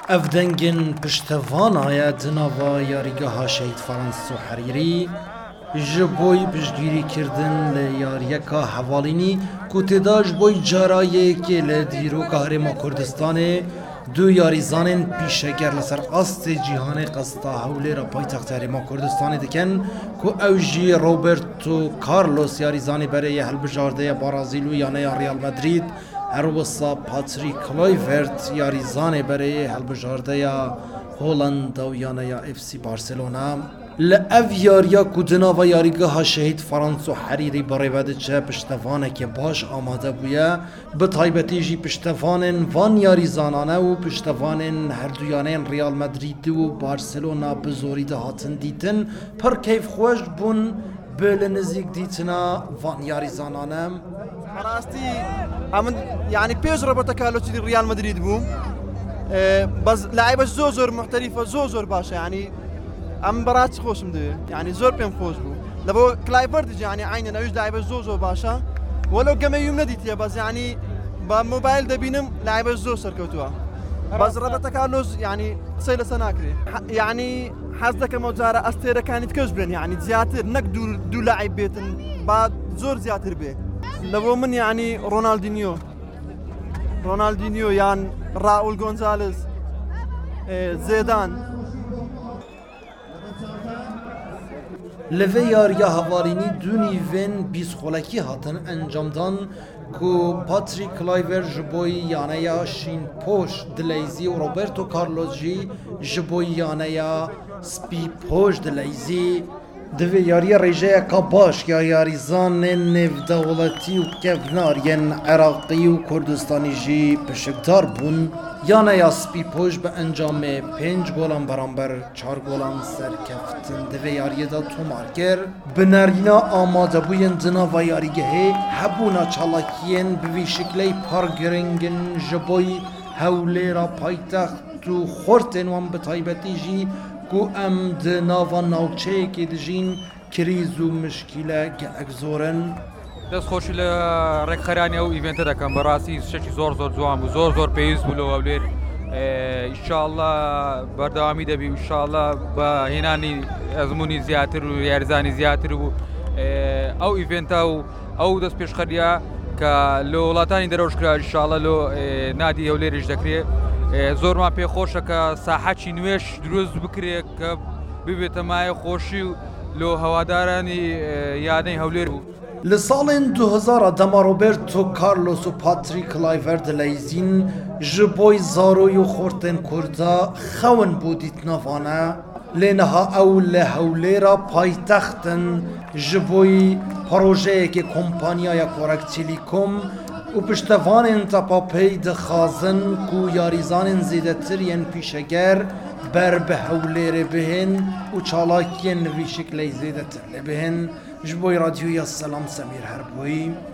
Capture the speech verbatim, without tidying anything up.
افدنگن پشتوان آید نوا یاریگاه شهید فرانسو حریری جبوی پشگیری کردن لیاریکا حوالینی کتداش بوی جارایی که لدیرو قهرما کردستان دو یاریزان پیشگر لسر قصد جهان قصد حوله را پایتخت هرما کردستان دکن که اوجی روبرتو کارلوس یاریزان برای هلبجارده برازیل و یانه ریال مدرید هر وصا پاتریک کلایورت یاریزان برای هلبجارده هولند و یانه اف سی بارسلونا لأف یاریا کدنا و یاریگاه شهید فرانسو حریری برای وده چه پشتوانه که باش آماده بویا به طایبتی جی پشتوانن وان یاریزانانه و پشتوانن هر دویانه ریال مدرید و بارسلونا بزوری ده هاتن دیتن پر کیف خوش بون بل نزیک دیتنا وان یاریزانانه راستی امن يعني بيج روبرتو كارلوس دي ريال مدريد بو أه بس لاعبش زور زور محترفه زور زور باشا يعني ام برات خوش مدوي يعني زور بهم خوش بو لبو كلايفرد يعني عيننا يوج لاعبش زور زور باشا ولو كما يوم نديت بس يعني بموبايل دبينم لاعبش زور سركوتوا بس روبرتو كارلوس يعني سيل سناكري يعني حزدك موزارة استيرا كانت كجبن يعني زياتر نك دو دو لاعب بيتن بعد زور زياتر بيه لبو من يعني رونالدينيو رونالدينيو يعني راؤول غونزاليز زيدان لوی یاریا هوارینی دو نیون بیس خولکی هاتن انجام دان که پاتریک کلایور جبوی یانه یا شین پوش دلیزی و روبرتو کارلوس جی جبوی یانه یا سپی پوش دلیزی دوی یاری ریجه که باش یا یاریزان نف دولتی و کفنارین عراقی و کردستانی جی پشکدار بون یانه یا سپی پوش به انجام پنج گولان برانبر چار گولان سرکفتن دوی یاری دا تومارگر بنارینا آماده بوین دنا و یاریگه هبونا چالاکین بوی شکلی پارگرنگن جبوی هوله را پایتخت و خورتن وان بطایبتی جی کو ام دنا و ناوچه که دجین کریز و مشکله گلک زورن دەست خۆشی لە ڕێکخەرانی ئەو ئیڤێنتە دەکەم بەڕاستی شەکی زۆر زۆر جوان بوو زۆر زۆر پێویست بوو لەوە لێر ئینشاءڵڵا بەردەوامی دەبی ئینشاءڵڵا بە هێنانی ئەزمموی زیاتر و یاریزانی زیاتر بوو ئەو ئیڤێنتە و ئەو دەست پێشخەریە کە لە وڵاتانی دەرەوش کرا ئینشاءڵڵا لۆ نادی هەولێریش دەکرێت زۆرمان پێخۆشە کە ساحەتی نوێش دروست بکرێت کە ببێتە مایە خۆشی و لۆ هەوادارانی یانەی هەولێر بوو. لسالن دو هزار دما روبرتو کارلوس و پاتریک کلایورت لیزین جبوی زاروی و خورتن کردا خون بودیت نوانه لنها او لحوله را پایتختن جبوی پروژه که کمپانیای کورک تیلیکوم و پشتوان انتپا پید خازن کو یاریزان زیده ترین پیشگر بر به حوله ره بهن و چالاکین وی شکلی زیده تر بهن جبوی رادیوی السلام سمیر هربوی